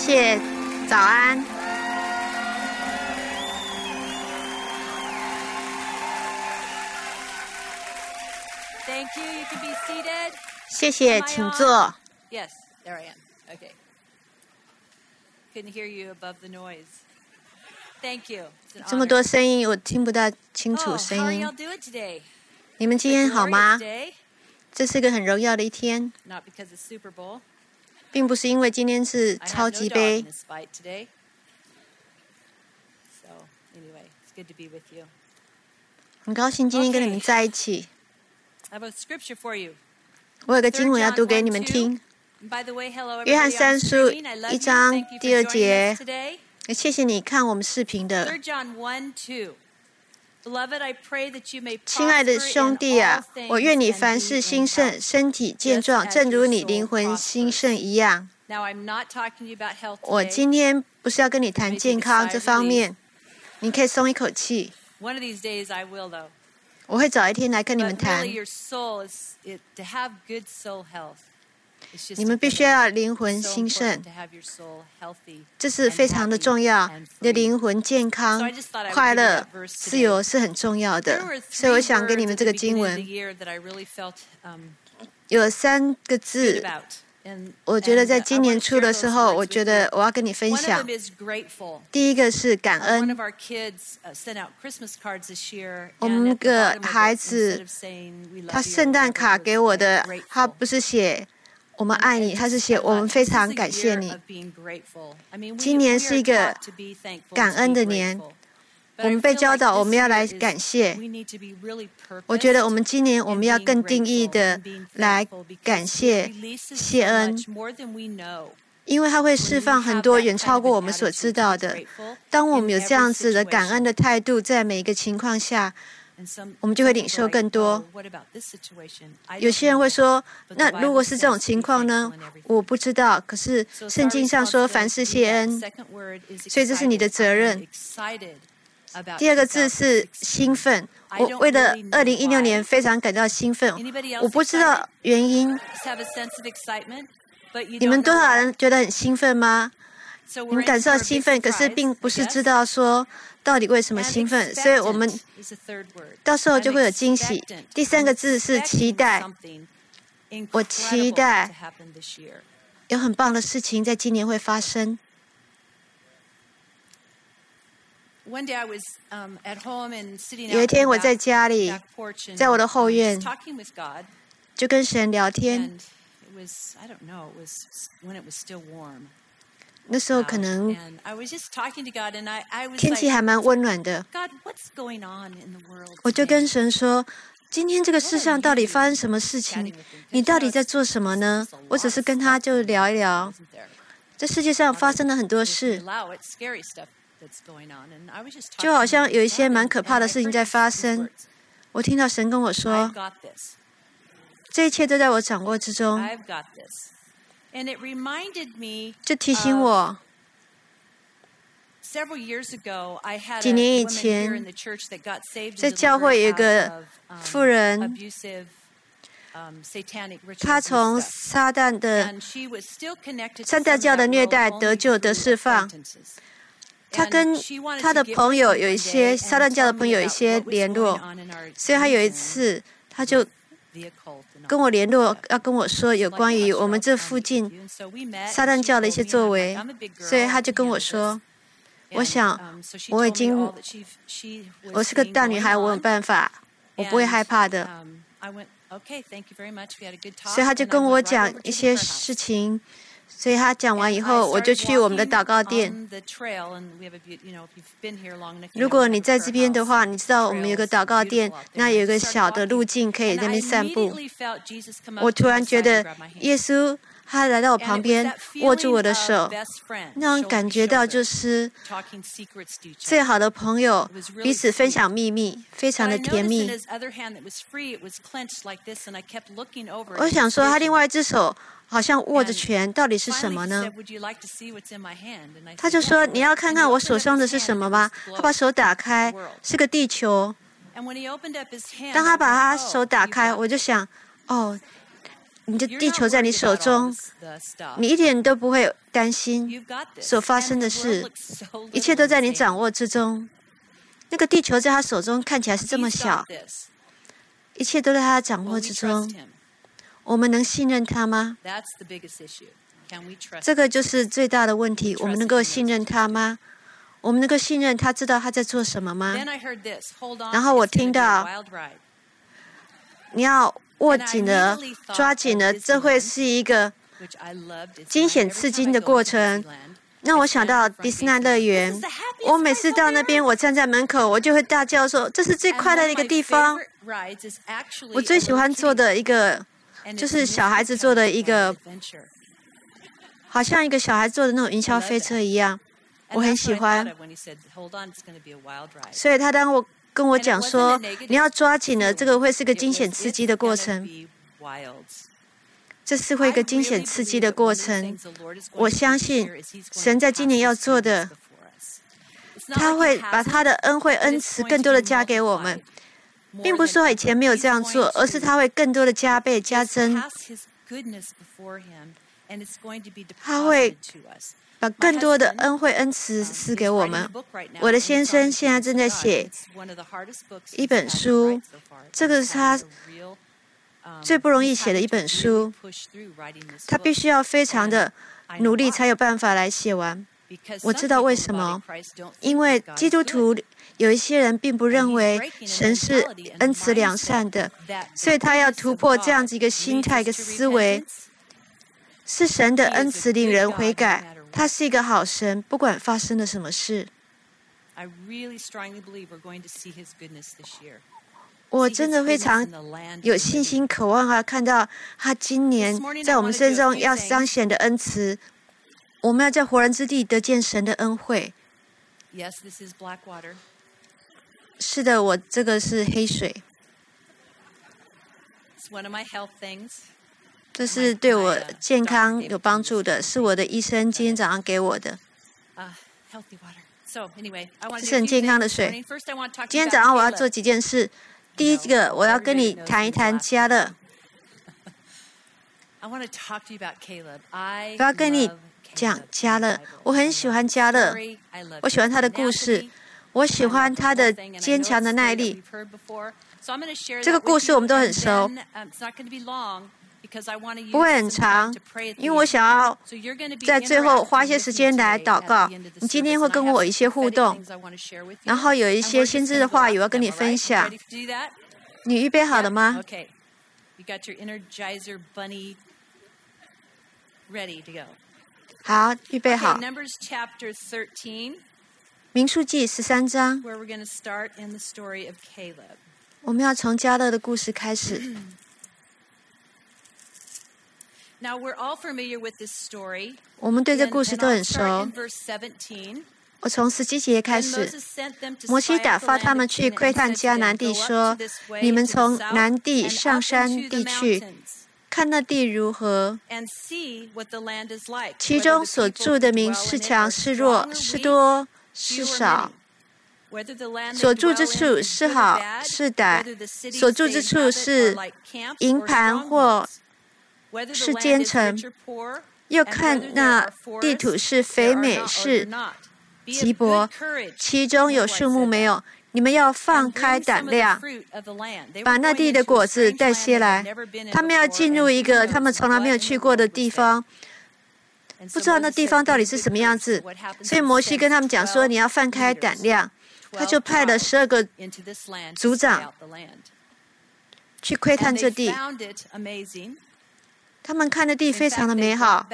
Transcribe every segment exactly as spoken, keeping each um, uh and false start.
谢，早安。 Thank you. You can be seated. 谢谢，请坐。 Yes, there I am. Okay. Couldn't hear you above the noise. Thank you. It's an 这么 honor. 多声音，我听不大清楚 Oh, how 声 are 音 y'all。doing today? 你们今 It's a 天好吗 glorious？day, 这是个很荣耀的一天， not because it's Super Bowl. 并不是因为今天是 I 超 have 级 no dog 杯 in。this fight today. So anyway, it's good to be with you. 很高兴今天跟你们在一起。 I have a scripture for you. 我有个经 Third 文要 John 读给 one 你们 two. 听。 And by the way, hello 约翰 everybody 三 on 书 screen. I love 一 you. 章 Thank you 第二 for joining 节 us today. 谢谢你看我们视频的。 Third John one two. Beloved, I pray that you may 亲爱的 prosper 兄 in 弟 all 啊， things 我愿你 and 凡 be 事 in 兴盛， health. 身体健 just 壮， as 正如 your 你 soul 灵魂 prospers. 兴盛一样。 Now, I'm not talking to you about health 我 today. 今天不是要跟你谈健康这方面，你可以松一口气。 One of these days I will, though. 我会早一天来跟你 But 们谈 really,。your soul is it, to have good soul health. It's just 你们必须要灵魂 so 兴 important 盛， to have your soul healthy. 这是非常的重要。你的灵魂健康、快乐、自由是很重要 There 的 were， 所以我 three 想给你 words 们 at 这 the 个经 beginning of the 文 year that I really felt um, 有三个 good 字， about. And, 我觉得 and, 在 uh, I 今年 want to 初 share 的 those 时候， words 我 with 觉得 you. 我要跟你分 One of 享 them。is grateful. 第一个是感 Uh, one 恩 of。our kids uh, sent out Christmas cards this year, 我 and 们 at the 个 bottom of 孩 it, 子 instead of saying we 他 love you, 圣 or 诞 whatever, 卡 it 给 was 我 like 的，他 grateful. 不是写我们 And 爱 I 你，他是 just 写 I 我们 thought, 非 this 常 is a 感谢 year 你。 of being grateful. I mean, we, 今年 we 是 are 一个 taught to be thankful, 感 to 恩 be 的年， grateful. 我 But I 们被 feel 教 like 导我 this 们要 year 来 is 感谢。 we need to be really 我觉得我 purposed 们今年我 in 们要 being 更定义 grateful 的 and being 来 thankful because 感 it 谢 releases 谢 so 恩， much more than we know. 因为它会 When 释 we 放很 have 多 that 远 kind 超 of 过 an 我们所 attitude 知 to 道 be 的。 grateful 当我 in 们有这 every 样子的感恩 situation. 的态度，在每一个情况下， And some, 我们就会 some 领 people 受 are like, 更多。 "Oh, what about this situation?" I 有 don't 些人会 know. 说， But 那 the 如果 Bible 是这种 says to 情 be 况呢？ thankful in everything. 我不知道。可是 So it's 圣 our 经上说， responsibility 凡 to 事 do 谢 that. 恩， Second word is 所以这是你的 excited. 责 I am 任。 excited about 第二个字是 twenty sixteen. 兴奋。 I 我 don't 为了 really 二 know 零一六 why. 年非常感到兴奋， Anybody 我 else 不知道 excited? 原因。 Just have a sense of excitement, but you 你们 don't 多 know 少 why. 人觉得很兴奋吗？ So 你 we're 们 in 感受 for 到 a big 兴奋，可是 surprise, 并不 I 是 guess. 知道说到底为什么 And 兴奋，所以我们 expectant is the third word. 到时候 I'm 就会有惊喜。 expectant. 第三 I'm 个字是期 expecting 待， something 我期 incredible 待 to happen this year. 有很棒的事情在今年会发生。 One day I was um, at home and sitting 有 out 一 in 天 the 我在 back, 家里， back porch and 在我的 um, 后 just 院， talking with God. 就跟神聊天。 And it was, I don't know, it was when it was still warm 那时候 out. 可能 And I was just talking to God and I, I was 天气 like, 还蛮温暖的， God, what's going on in the world 我就 today? 跟神说：“今天这个世上到底发生什么事 Chatting 情？ with him. 你 Because, 到 you 底 know, 在 it's 做什么呢 just a？” 我 lot 只 of 是跟他 stuff 就 going 聊一 on, 聊， isn't there? 这世界上 A lot 发 of- 生了很多 if you 事， allow it, scary stuff that's going on. And I was just 就好 talking 像 with 有一些 God 蛮 and- 可 and 怕的 I 事情 heard 在 these- 发 these 生。 words. 我听到神跟我 I've 说 got this. 这一切都在我掌握之中， I've got this. And it reminded me 就提醒我 several years ago, I had 几 a 年以 woman 前 here in the church that got saved 在 and 教会有一 delivered 个 out of um, 妇人， abusive, um, satanic 她 ritual 从 abuse stuff. 撒旦的 And she was still connected to 撒 some 旦 of 教的 that 虐 world 待 only 得救得 through 释放。 acquaintances. 他 And 跟 she wanted 他 to 的 get 朋 with 友 me 有一 one 些 day 撒 and 旦教的 tell 朋 me 友有一 about 些 what was 联 going 络， on in our 所以他有一 region 次他就 with the occult and 跟 all 我联络 that， 要跟我说有 like 关于 I'm 我们 sure 这 I'll 附 come 近 with you. And so we met, 撒 and 旦 she 教的一 told 些 me, and 作 I'm like, 为， I'm a big 所以 girl, 他 I 就 can 跟我 handle this. 说，我 And 想 um, so she 我已 told me 经 all that she she 我 was 是个 seeing 大女 going 孩，我有 on. 办法，我不会 And 害怕的。 um, I went, okay, thank you very much. We had a good 所以 talk. 他就 And I 跟我 went right 讲 over to 一 the 些 prayer 事 house. 情，所以他讲完 And 以 I 后，我就 started 去我们的 walking 祷告店。 on the trail, and we have a beau- you know, if you've been here long enough, you 如 know 果 we 你 have a 在这 prayer 边的 house. 话，你知道我们有个 Trails 祷告 beautiful 店， out there. 那 And 有 I 一个 just 小 started 的路 walking, 径可以 and 在那 I 边散步。 immediately felt Jesus come 我 up to 突 my 然觉 side 得 and grab my hand. 耶稣他来到我 And 旁 it was 边 that 握住我 feeling 的 of 手， best friends, 那种 shoulder 感 to 觉到 shoulder, 就是 talking secrets to each 最 other. 好的朋友 It was really 彼此分 sweet. 享秘密，非 But 常 I 的甜 noticed in 蜜。 his other hand that was free, it was clenched like this, and I kept looking over 我 at 想 his 说，他 vision. 另外一只手好像握着 And 拳，到底是什 Finally, 么 he 呢 said, "Would you like to see what's in my hand?" And I 他 said, 就 "Yeah, 说：“ I 你 would." 要看 And 看 he 我 opened 手 up 上 his 的是 hand, 什 and 么 it 吗 was？” 他把 the 手打 globe, 开， the world. 是个地球。 And when he opened up his hand, 当 I 他把他 went, 手 "Oh, 打 you've 开， got 我就 this." 想，哦， 你的地球在你手中，你一点都不会担心所发生的事，一切都在你掌握之中。那个地球在他手中看起来是这么小，一切都在他掌握之中。我们能信任他吗？这个就是最大的问题。我们能够信任他吗？我们能够信任他知道他在做什么吗？然后我听到，你要握紧了，抓紧了，这会是一个惊险刺激的过程。让我想到迪士尼乐园，我每次到那边，我站在门口，我就会大叫说：“这是最快乐的一个地方。”我最喜欢做的一个，就是小孩子做的一个，好像一个小孩做的那种云霄飞车一样，我很喜欢。所以他当我跟我讲说，你要抓紧了，这个会是个惊险刺激的过程。这是会一个惊险刺激的过程。我相信神在今年要做的，他会把他的恩惠恩慈更多的加给我们，并不是说以前没有这样做，而是他会更多的加倍加增。他会把更多的恩惠恩慈赐给我们。我的先生现在正在写一本书，这个是他最不容易写的一本书，他必须要非常的努力才有办法来写完。我知道为什么，因为基督徒有一些人并不认为神是恩慈良善的，所以他要突破这样子一个心态、一个思维，是神的恩慈令人悔改，他是一个好神，不管发生了什么事。我真的非常有信心渴望啊，看到他今年在我们身上要彰显的恩慈，我们要在活人之地得见神的恩惠。是的，我这个是黑水，这是对我健康有帮助的，是我的医生今天早上给我的。这是很健康的水。今天早上我要做几件事。第一个，我要跟你谈一谈迦勒。我要跟你讲迦勒，我很喜欢迦勒，我喜欢他的故事，我喜欢他的坚强的耐力。这个故事我们都很熟，不会很长，因为我想要在最后花一些时间来祷告。你今天会跟我有一些互动，然后有一些先知的话语我要跟你分享。你预备好了吗？好，预备好。民数记十三章，我们要从迦勒的故事开始。我们对这故事都很熟。我从十七节开始，摩西打发他们去窥探迦南地，说：“你们从南地上山地去，看那地如何？其中所住的民是强是弱，是多是少？所住之处是好是歹？所住之处是营盘或是坚城？又看那地土是肥美是瘠薄，其中有树木没有？你们要放开胆量，把那地的果子带些来。他们要进入一个他们从来没有去过的地方，不知道那地方到底是什么样子。所以摩西跟他们讲说：“你要放开胆量。”他就派了十二个族长去窥探这地。他们看的地非常的美好。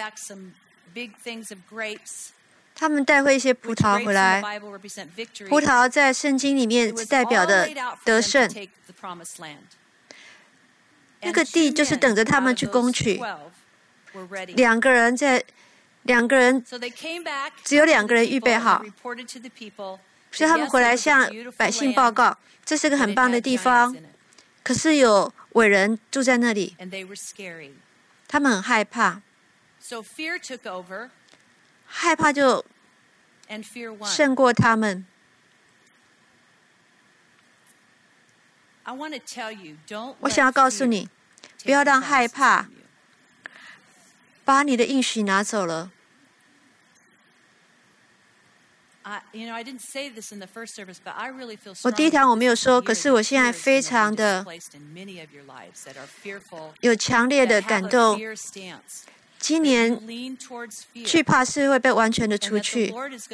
他们带回一些葡萄回来，葡萄在圣经里面是代表的得胜。那个地就是等着他们去攻取。两个人在，两个人只有两个人预备好，所以他们回来向百姓报告，这是个很棒的地方，可是有伟人住在那里，他们很害怕。害怕就胜过他们。我想要告诉你，不要让害怕把你的应许拿走了。我第一堂我没有说，可是我现在非常的有强烈的感动。今年惧怕是会被完全的除去，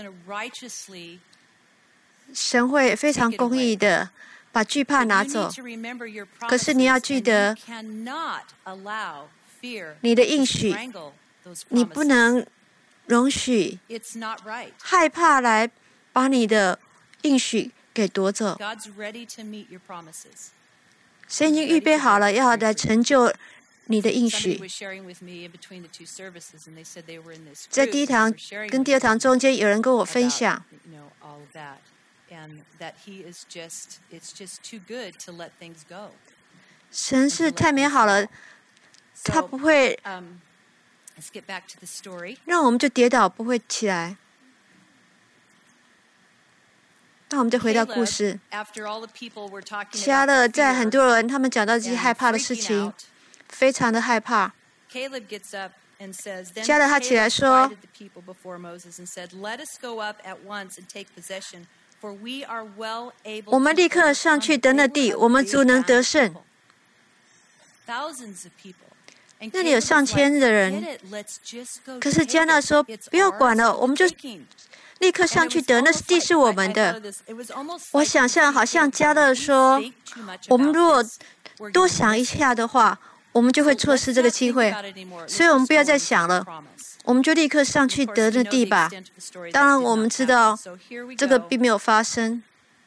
神会非常公义的把惧怕拿走。可是你要记得，你的应许，你不能容许害怕来把你的应许给夺走。神已经预备好了，要来成就你的应许。在第一堂跟第二堂中间，有人跟我分享，神是太美好了，他不会让我们就跌倒，不会起来。那我们就回到故事。迦勒在很多人他们讲到这些害怕的事情，非常的害怕。迦勒他起来说：“我们立刻上去得那地，我们足能得胜。”那里有上千的人，可是迦勒说：“不要管了，我们就立刻上去得，那地是我们的。”我想象好像迦勒说：“我们如果多想一下的话，我们就会错失这个机会，所以我们不要再想了，我们就立刻上去得那地吧。”当然，我们知道这个并没有发生。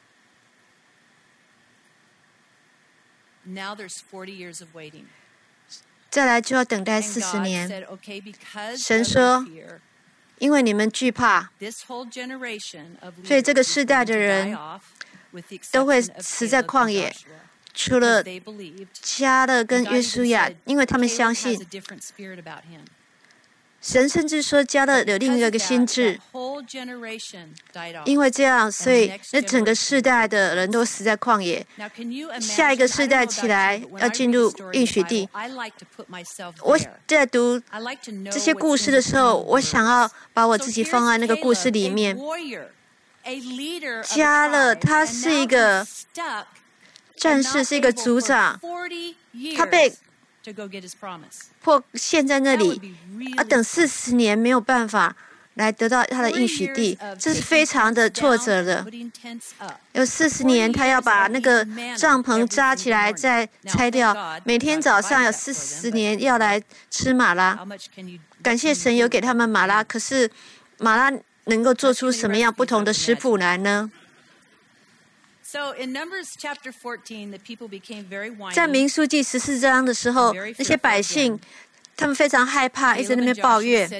再来就要等待四十年。神说：“因为你们惧怕，所以这个世代的人都会死在旷野，除了迦勒跟约书亚，因为他们相信。”神甚至说迦勒有另一个心志，因为这样，所以那整个世代的人都死在旷野。下一个世代起来要进入应许地。我在读这些故事的时候，我想要把我自己放在那个故事里面。迦勒他是一个战士，是一个族长，他被迫陷在那里，啊，等四十年没有办法来得到他的应许地，这是非常的挫折的。有四十年，他要把那个帐篷扎起来，再拆掉。每天早上有四十年要来吃马拉。感谢神有给他们马拉，可是马拉能够做出什么样不同的食谱来呢？在民数记十四章的时候，那些百姓他们非常害怕，一直在那边抱怨。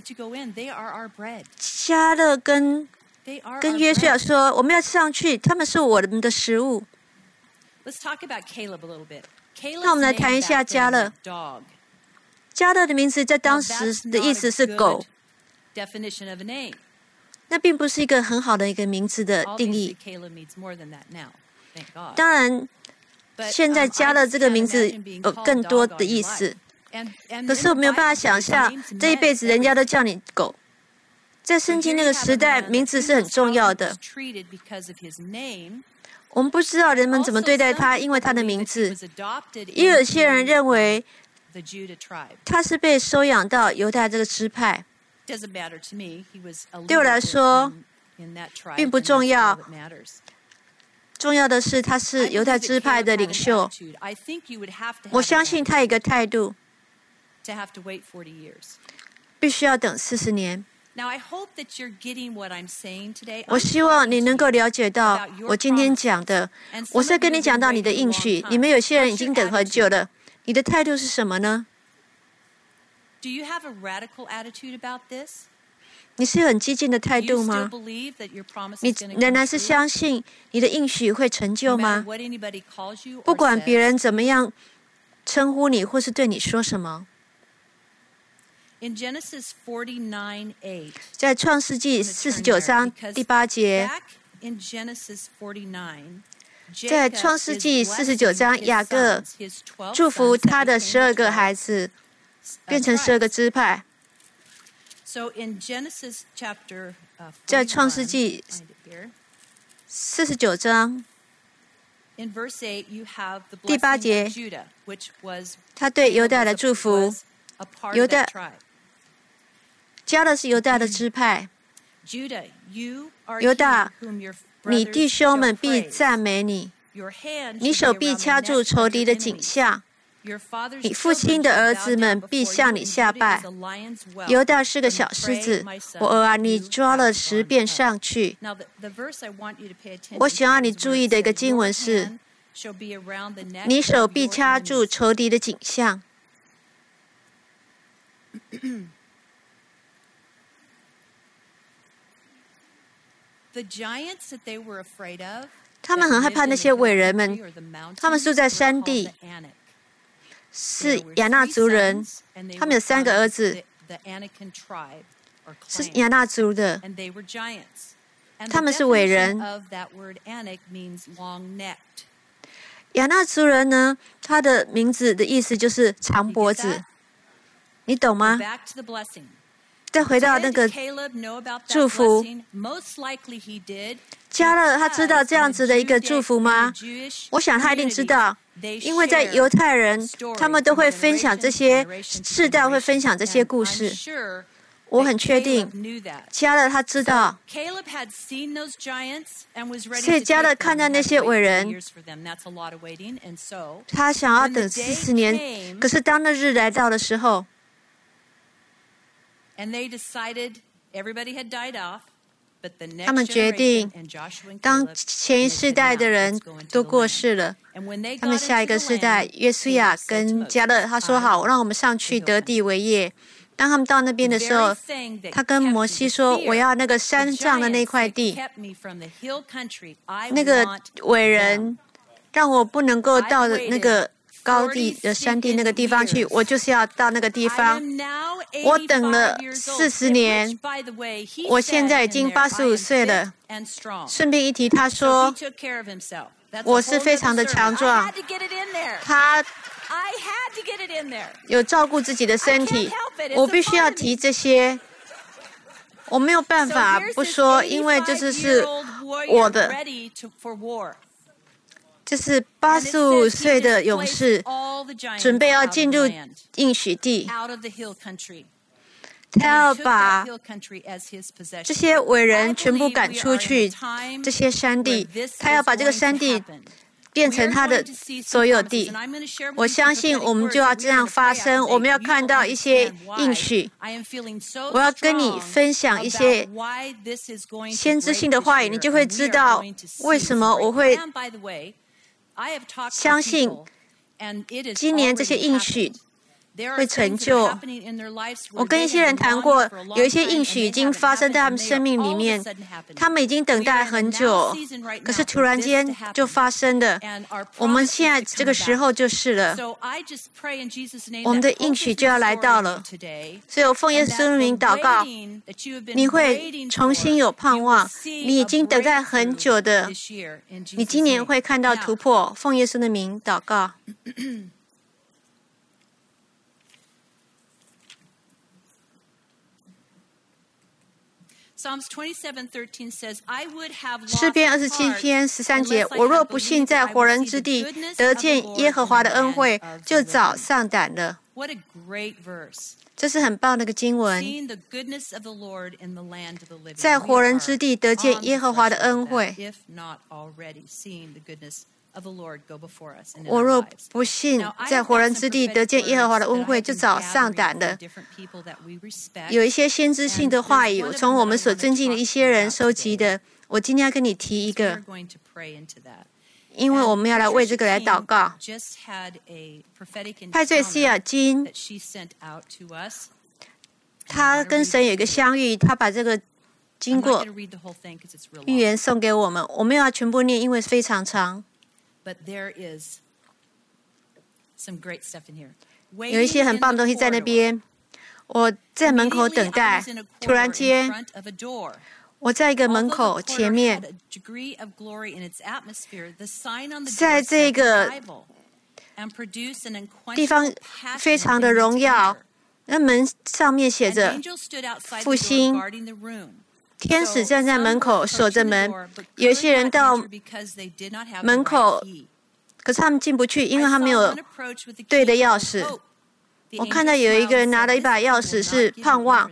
迦勒跟跟约书亚说：“我们要上去，他们是我们的食物。”那我们来谈一下迦勒。迦勒的名字在当时的意思是狗。那并不是一个很好的一个名字的定义。当然，现在加了这个名字有更多的意思。可是我没有办法想象，这一辈子人家都叫你狗。在圣经那个时代，名字是很重要的。我们不知道人们怎么对待他，因为他的名字。也有些人认为，他是被收养到犹大这个支派。对我来说，并不重要。重要的是，他是犹太支派的领袖。我相信他有一个态度，必须要等四十年。我希望你能够了解到我今天讲的。我是跟你讲到你的应许，你们有些人已经等很久了。你的态度是什么呢？你是很激进的态度吗？你仍然是相信你的应许会成就吗？不管别人怎么样称呼你，或是对你说什么。在创世纪四十九章第八节，在创世纪四十九章，雅各祝福他的十二个孩子。 变成十二个支派。在创世纪四十九章第八节，他对犹大的祝福，犹大加勒是犹大的支派。犹大，你弟兄们必赞美你，你手必掐住仇敌的颈项，你父亲的儿子们必向你下拜。犹大是个小狮子，我儿啊，你抓了十遍上去。我想要你注意的一个经文是，你手必掐住仇敌的颈项。他们很害怕那些伟人们，他们住在山地，是亚纳族人，他们有三个儿子，是亚纳族的，他们是伟人。亚纳族人呢，他的名字的意思就是长脖子，你懂吗？再回到那个祝福，加勒他知道这样子的一个祝福吗？我想他一定知道，因为在犹太人，他们都会分享这些世代会分享这些故事。我很确定，加勒他知道，所以加勒看到那些伟人，他想要等四十年，可是当那日来到的时候，他们决定，当前一世代的人都过世了，他们下一个世代，约书亚跟加勒，他说好，让我们上去得地为业。当他们到那边的时候，他跟摩西说：“我要那个山上的那块地，那个伟人让我不能够到那个高地的山地那个地方去，我就是要到那个地方。我等了四十年，我现在已经八十五岁了。顺便一提，他说我是非常的强壮，他有照顾自己的身体，我必须要提这些，我没有办法不说，因为这就是我的。这是八十五岁的勇士，准备要进入应许地。他要把这些伟人全部赶出去，这些山地，他要把这个山地变成他的所有地。我相信我们就要这样发生，我们要看到一些应许。我要跟你分享一些先知性的话语，你就会知道为什么我会相信今年这些应许会成就。我跟一些人谈过，有一些应许已经发生在他们生命里面，他们已经等待很久，可是突然间就发生的。我们现在这个时候就是了，我们的应许就要来到了。所以我奉耶稣的名祷告，你会重新有盼望，你已经等待很久的，你今年会看到突破。奉耶稣的名祷告。诗篇二十七篇十三节，我若不信在活人之地得见耶和华的恩惠，就早丧胆了。这是很棒的一个经文，在活人之地得见耶和华的恩惠。我若不信在活人之地得见耶和华的恩惠，就早丧胆了。有一些先知性的话语，从我们所尊敬的一些人收集的。我今天要跟你提一个，因为我们要来为这个来祷告。派对西尔金，他跟神有一个相遇，他把这个经过预言送给我们。我们要全部念，因为非常长。有一些很棒的东西在那边。我在门口等待，突然间，我在一个门口前面，在这个地方非常的荣耀， 那门上面写着复兴。天使站在门口守着门，有一些人到门口，可是他们进不去，因为他没有对的钥匙。我看到有一个人拿了一把钥匙，是盼望。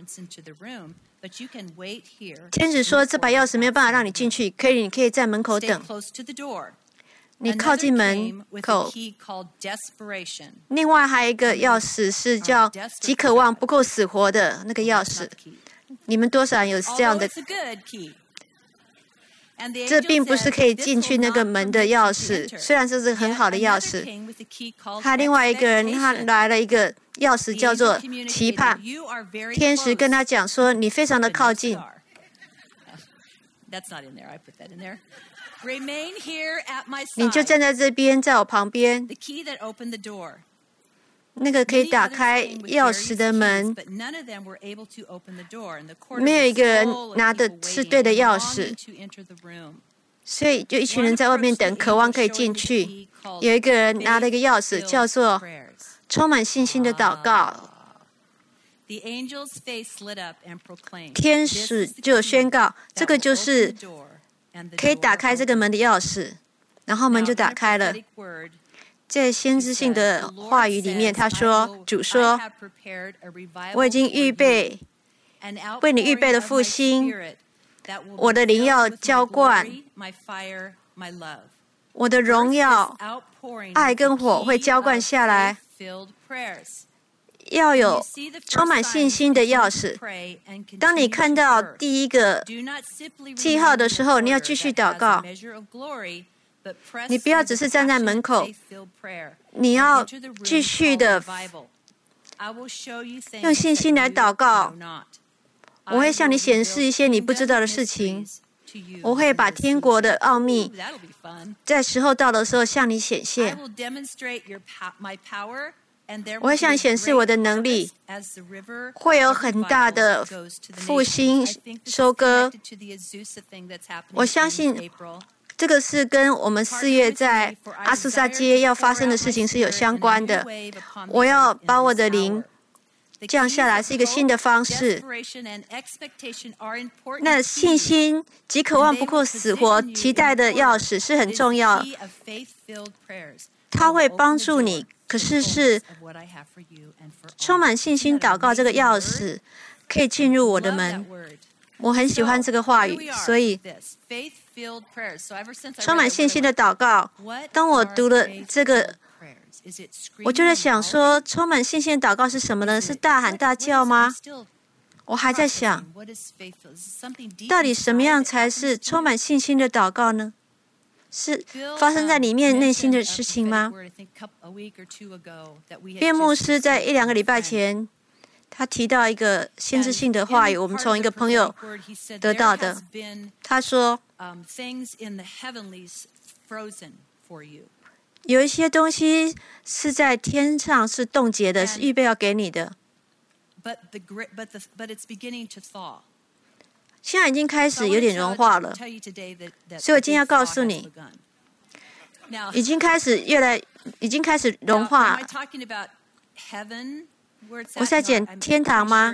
天使说：“这把钥匙没有办法让你进去，可以，你可以在门口等。你靠近门口。”另外还有一个钥匙是叫“极渴望不够死活”的那个钥匙。你们多少人有这样的？这并不是可以进去那个门的钥匙，虽然这是很好的钥匙。他另外一个人，他来了一个钥匙，叫做期盼。天使跟他讲说：“你非常的靠近。”你就站在这边，在我旁边。那个可以打开钥匙的门，没有一个人拿的是对的钥匙，所以就一群人在外面等，渴望可以进去。有一个人拿了一个钥匙，叫做充满信心的祷告。天使就宣告，这个就是可以打开这个门的钥匙，然后门就打开了。在先知性的话语里面，他说：“主说，我已经预备为你预备了复兴，我的灵要浇灌，我的荣耀、爱跟火会浇灌下来。要有充满信心的钥匙。当你看到第一个记号的时候，你要继续祷告。你不要只是站在门口，你要继续的用信心来祷告。我会向你显示一些你不知道的事情，我会把天国的奥秘在时候到的时候向你显现。我会向你显示我的能力，会有很大的复兴收割。我相信这个是跟我们四月在阿苏萨街要发生的事情是有相关的。我要把我的灵降下来，是一个新的方式。那信心及渴望不够死活，期待的钥匙是很重要，它会帮助你。可是是充满信心祷告这个钥匙可以进入我的门。我很喜欢这个话语，所以充满信心的祷告。当我读了这个，我就在想说，充满信心的祷告是什么呢？是大喊大叫吗？我还在想，到底什么样才是充满信心的祷告呢？是发生在里面内心的事情吗？卞牧师在一两个礼拜前，他提到一个先知性的话语，我们从一个朋友得到的。他说，有一些东西是在天上是冻结的，是预备要给你的。现在已经开始有点融化了，所以我今天要告诉你，已经开始越来，已经开始融化。我是在讲天堂吗？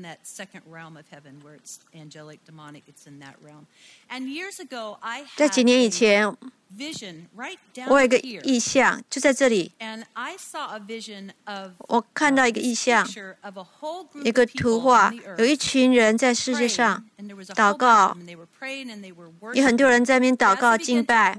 在几年以前，我有一个意象，就在这里。我看到一个意象，一个图画，有一群人在世界上祷告，有很多人在那边祷告敬拜，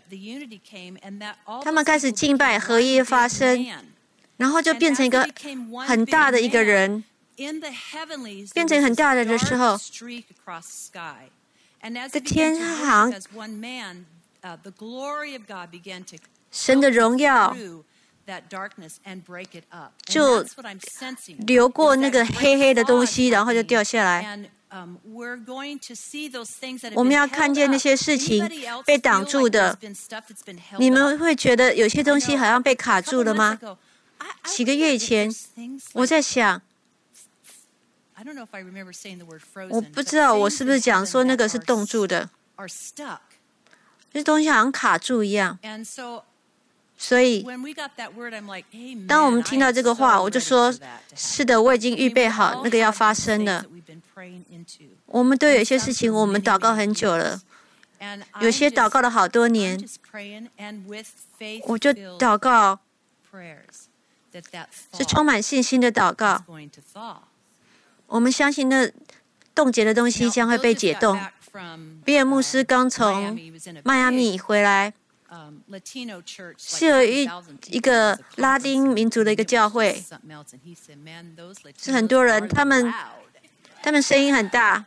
他们开始敬拜，合一发生。然后就变成一个很大的一个人，变成很大的的时候，在天上，神的荣耀就流过那个黑黑的东西，然后就掉下来。我们要看见那些事情被挡住的。你们会觉得有些东西好像被卡住了吗？几个月以前，我在想，我不知道我是不是讲说那个是冻住的，这东西好像卡住一样。 所以，当我们听到这个话，我就说：是的，我已经预备好那个要发生了。我们都有一些事情，我们祷告很久了，有些祷告了好多年。我就祷告，是充满信心的祷告。我们相信那冻结的东西将会被解冻。比尔牧师刚从迈阿密回来。是有一一个拉丁民族的一个教会，是很多人，他们他们声音很大。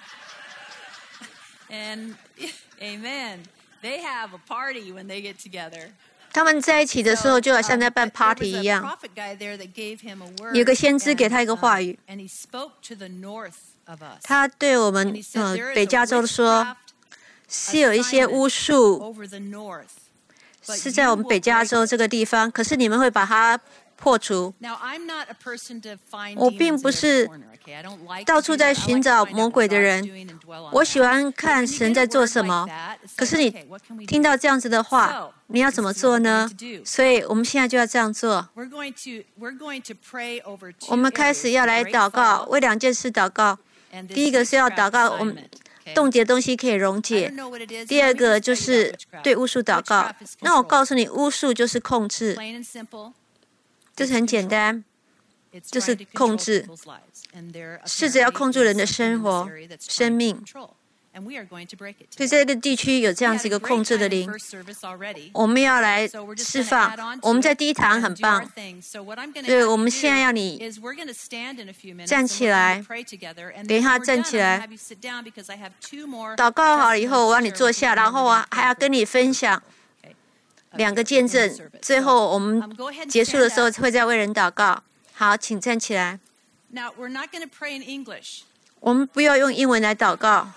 他们在一起的时候，就好像在办 party 一样。有个先知给他一个话语，他对我们呃北加州说，是有一些巫术。是在我们北加州这个地方，可是你们会把它破除。我并不是到处在寻找魔鬼的人，我喜欢看神在做什么。可是你听到这样子的话，你要怎么做呢？所以我们现在就要这样做。我们开始要来祷告，为两件事祷告。第一个是要祷告我们冻结的东西可以溶解。第二个就是对巫术祷告。那我告诉你，巫术就是控制，就是很简单，就是控制，试着要控制人的生活、生命。所以在这个地区有这样子一个控制的灵，我们要来释放。我们在第一堂很棒，所以我们现在要你站起来，等一下站起来，祷告好了以后，我让你坐下，然后我还要跟你分享两个见证。最后我们结束的时候会再为人祷告。好，请站起来。我们不要用英文来祷告。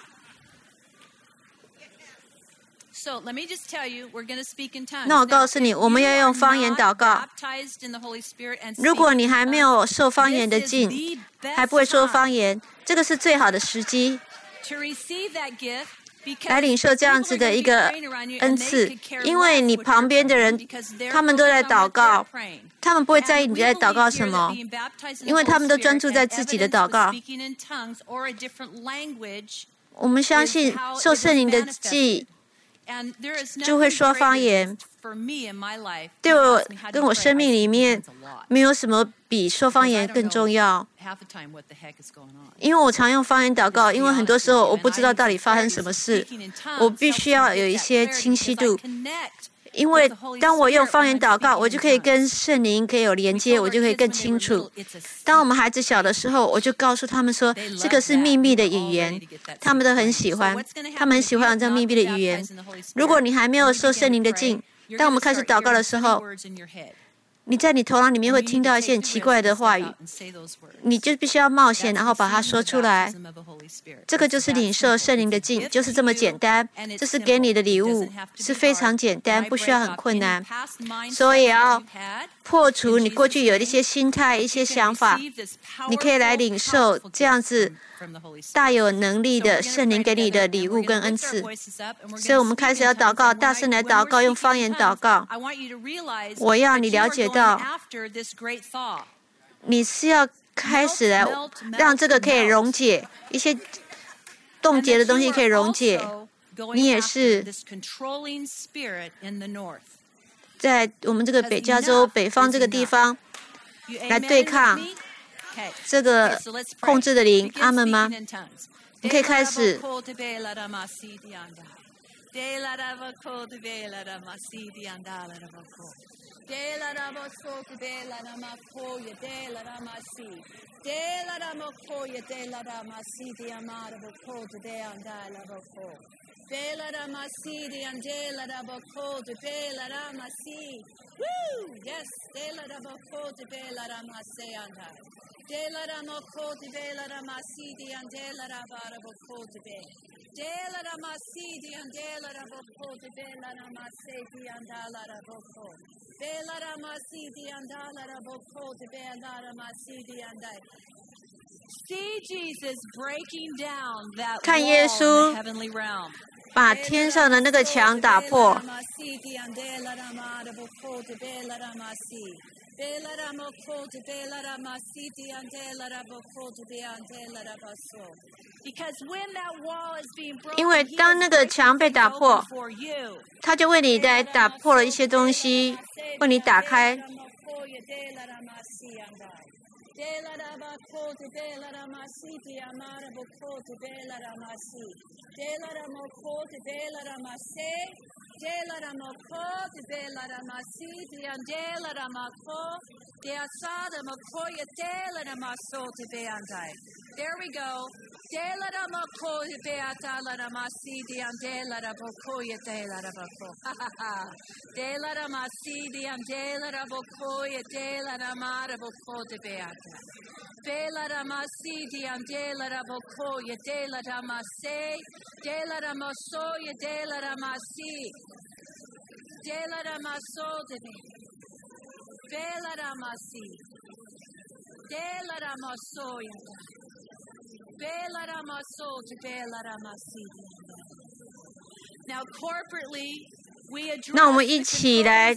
那我告诉你，我们要用方言祷告。如果你还没有受方言的浸，还不会说方言，这个是最好的时机来领受这样子的一个恩赐，因为你旁边的人，他们都在祷告，他们不会在意你在祷告什么，因为他们都专注在自己的祷告。我们相信受圣灵的浸就会说方言。对我跟我生命里面没有什么比说方言更重要，因为我常用方言祷告，因为很多时候我不知道到底发生什么事，我必须要有一些清晰度。因为当我用方言祷告，我就可以跟圣灵可以有连接，我就可以更清楚。当我们孩子小的时候，我就告诉他们说，这个是秘密的语言，他们都很喜欢，他们很喜欢这秘密的语言。如果你还没有受圣灵的浸，当我们开始祷告的时候，你在你头脑里面会听到一些很奇怪的话语，你就必须要冒险，然后把它说出来。这个就是领受圣灵的浸，就是这么简单。这是给你的礼物，是非常简单，不需要很困难。所以要破除你过去有的一些心态、一些想法，你可以来领受这样子大有能力的圣灵给你的礼物跟恩赐。所以我们开始要祷告，大声来祷告，用方言祷告。我要你了解到，你是要开始来让这个可以溶解一些冻结的东西，可以溶解。你也是在我们这个北加州北方这个地方来对抗这个控制的灵，阿们吗？你可以开始。 Bela Ramasidi and Dela Raboko de Bela Ramasi. Woo! Yes, Dela Raboko de Bela Ramase and I. Dela Ramoko de Bela Ramasidi and Dela Raboko de Be. Dela Ramasidi and Dela Raboko de Bela Ramasedi and Dala Raboko. Bela Ramasidi and Dala Raboko de Bela Ramasidi and I. See Jesus breaking down that wall in the heavenly realm. 把天上的那个墙打破。因为当那个墙被打破，他就为你来打破了一些东西，为你打开。 There we go. De la da ma ko ye beata la da ma si di an de la da bo ko ye de la da bo ko. Ha ha ha. De la da ma si di an de la da bo ko ye de la da ma da bo ko de beata. Be la da ma si di an de la da bo ko ye de la da ma se. De la da ma so ye de la da ma si. De la da ma so de be. Be la da ma si. De la da ma so ye da. 那我们一起来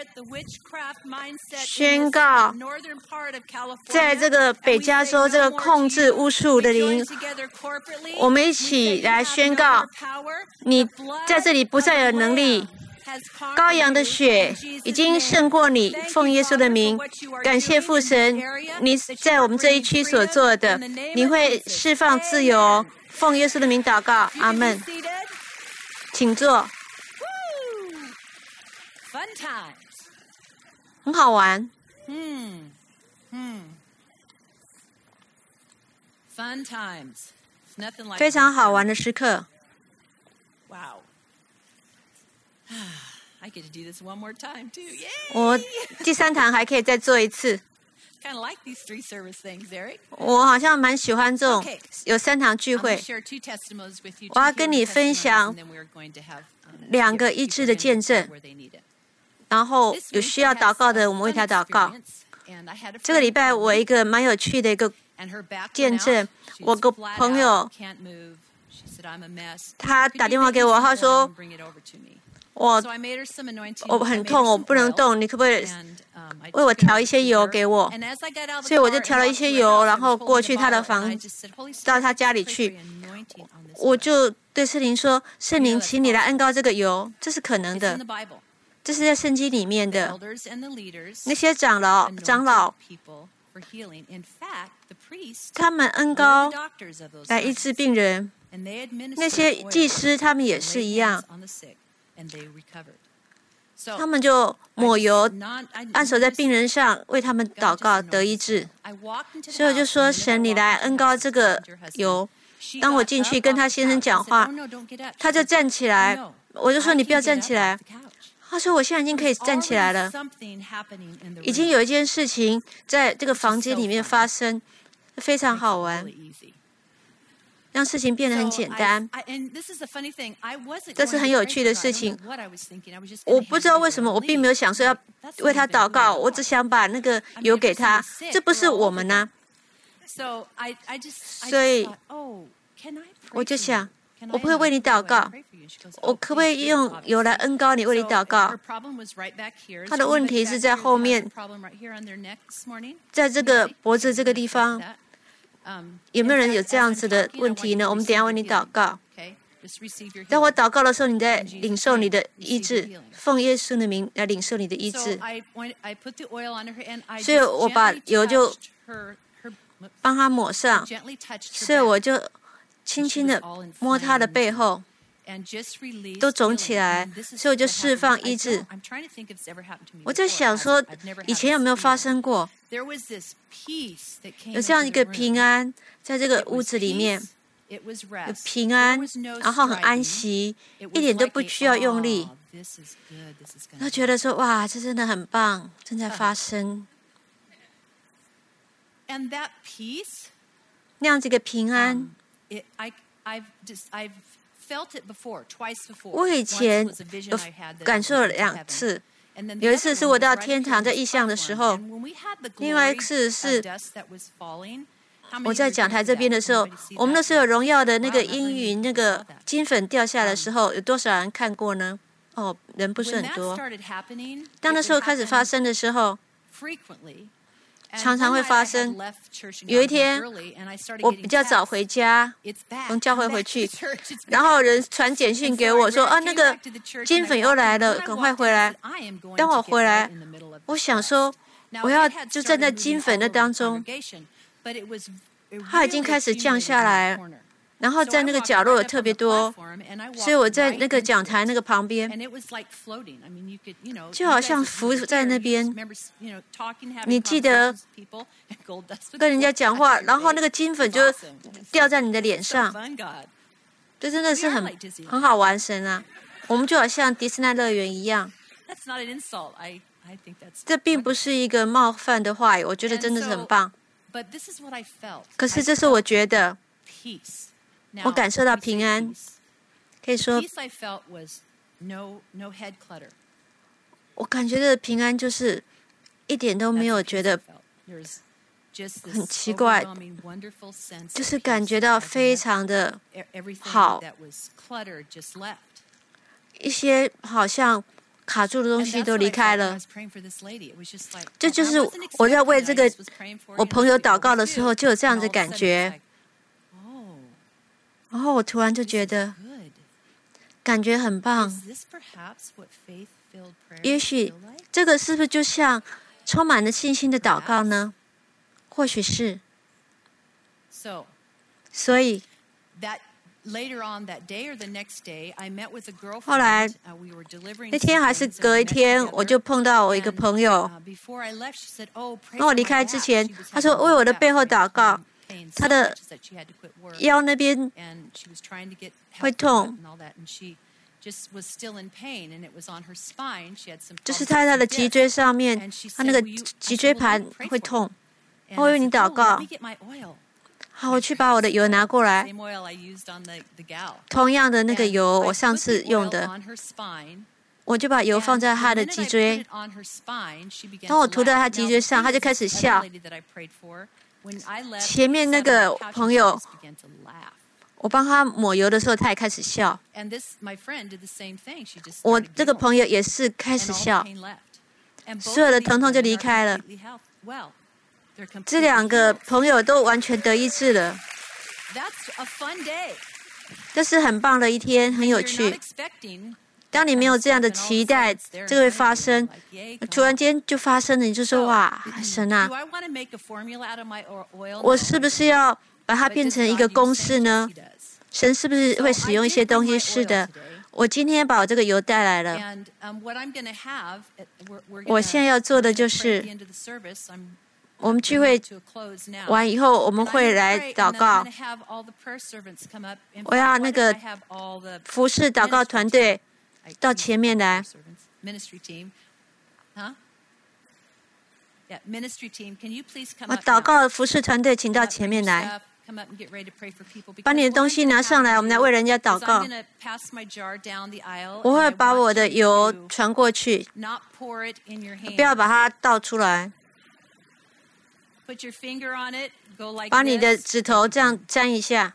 宣告，在这个北加州这个控制巫术的灵，我们一起来宣告，你在这里不再有能力。羔羊的血已经胜过你，奉耶稣的名，感谢父神，你在我们这一区所做的，你会释放自由，奉耶稣的名祷告，阿们。请坐。很好玩。 嗯嗯 Fun times. 非常好玩的时刻。 Wow. I get to do this one more time too. Yay! 我第三堂还可以再做一次。 Kind of like these three service things, Eric. 我好像蛮喜欢这种有三堂聚会。我要跟你分享两个医治的见证，然后有需要祷告的，我们为他祷告。这个礼拜我一个蛮有趣的一个见证，我个朋友他打电话给我，他说。我我很痛，我不能动，你可不可以为我调一些油给我？所以我就调了一些油，然后过去他的房，到他家里去。我就对圣灵说：“圣灵，请你来恩膏这个油，这是可能的，这是在圣经里面的。那些长老、长老，他们恩膏来医治病人，那些祭司他们也是一样。”他们就抹油，按手在病人上，为他们祷告得医治。所以我就说：“神，你来恩膏这个油。”当我进去跟他先生讲话，他就站起来。我就说：“你不要站起来。”他说：“我现在已经可以站起来了。”已经有一件事情在这个房间里面发生，非常好玩。让事情变得很简单，这是很有趣的事情。我不知道为什么，我并没有想说要为他祷告，我只想把那个油给他。这不是我们呢、啊？所以我就想，我不会为你祷告，我可不可以用油来恩膏你，为你祷告？他的问题是在后面，在这个脖子这个地方。有没有人有这样子的问题呢？我们等一下为你祷告。当我祷告的时候，你在领受你的医治，奉耶稣的名来领受你的医治。所以我把油就帮他抹上，所以我就轻轻的摸他的背后，都肿起来，所以我就释放医治。我在想说，以前有没有发生过？有这样一个平安，在这个屋子里面，有平安，然后很安息，一点都不需要用力。他觉得说，哇，这真的很棒，正在发生。那样子一个平安，我以前有感受了两次。有一次是我到天堂在异象的时候，另外一次是我在讲台这边的时候，我们那时候有荣耀的那个阴云那个金粉掉下来的时候，有多少人看过呢？哦，人不是很多。当那时候开始发生的时候，常常会发生。有一天，我比较早回家，从教会回去，然后人传简讯给我说：“啊，那个金粉又来了，赶快回来。”当我回来，我想说，我要就站在金粉的当中，它已经开始降下来。然后在那个角落有特别多，所以我在那个讲台那个旁边，就好像浮在那边。你记得跟人家讲话，然后那个金粉就掉在你的脸上，这真的是很很好玩神啊！我们就好像迪士尼乐园一样。这并不是一个冒犯的话语，我觉得真的是很棒。可是这是我觉得。我感受到平安，可以说，我感觉的平安就是一点都没有觉得很奇怪，就是感觉到非常的好，一些好像卡住的东西都离开了。这就是我在为这个我朋友祷告的时候，就有这样的感觉。然后我突然就觉得，感觉很棒。也许这个是不是就像充满了信心的祷告呢？或许是。所以，后来那天还是隔一天，我就碰到我一个朋友。当我离开之前，他说为我的背后祷告。他的腰那边会痛，就是在他的脊椎上面，他那个脊椎盘会痛。我为你祷告。好，我去把我的油拿过来。同样的那个油，我上次用的，我就把油放在他的脊椎。当我涂在他脊椎上，他就开始笑。前面那个朋友，我帮他抹油的时候，他也开始笑。我这个朋友也是开始笑，所有的疼痛就离开了。这两个朋友都完全得医治了。这是很棒的一天，很有趣。当你没有这样的期待，这个会发生，突然间就发生了，你就说哇，神啊，我是不是要把它变成一个公式呢？神是不是会使用一些东西？是的，我今天把我这个油带来了。我现在要做的就是，我们聚会完以后，我们会来祷告。我要那个服侍祷告团队到前面来。我祷告服侍团队，请到前面来，把你的东西拿上来，我们来为人家祷告。我会把我的油传过去，不要把它倒出来。把你的指头这样沾一下。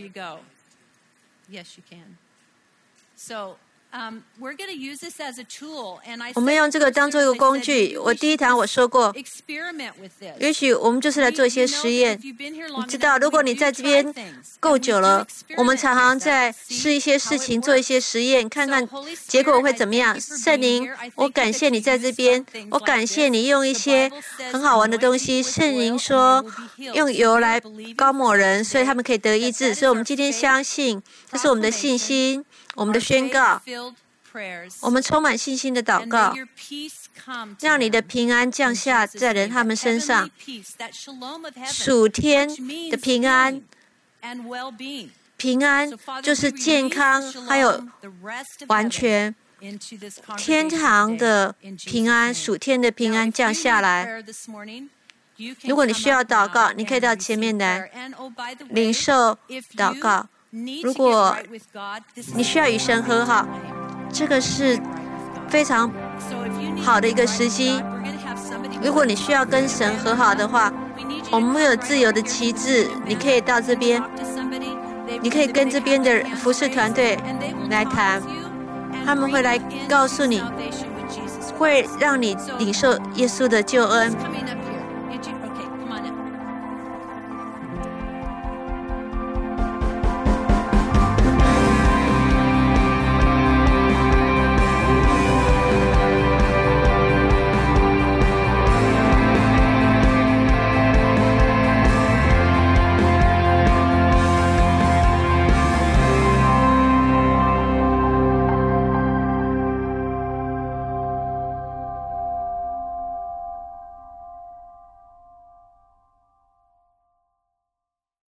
我们用这个当做一个工具。我第一堂我说过，也许我们就是来做一些实验。你知道，如果你在这边够久了，我们常常在试一些事情，做一些实验，看看结果会怎么样。圣灵，我感谢你在这边，我感谢你用一些很好玩的东西。圣灵说，用油来膏抹人，所以他们可以得医治。所以我们今天相信，这是我们的信心。我们的宣告，我们充满信心的祷告，让你的平安降下在人他们身上，属天的平安，平安就是健康，还有完全天堂的平安，属天的平安降下来。如果你需要祷告，你可以到前面来领受祷告。如果你需要与神和好，这个是非常好的一个时机。如果你需要跟神和好的话，我们会有自由的旗帜，你可以到这边。 你可以跟这边的服侍团队来谈，他们会来告诉你，会让你领受耶稣的救恩。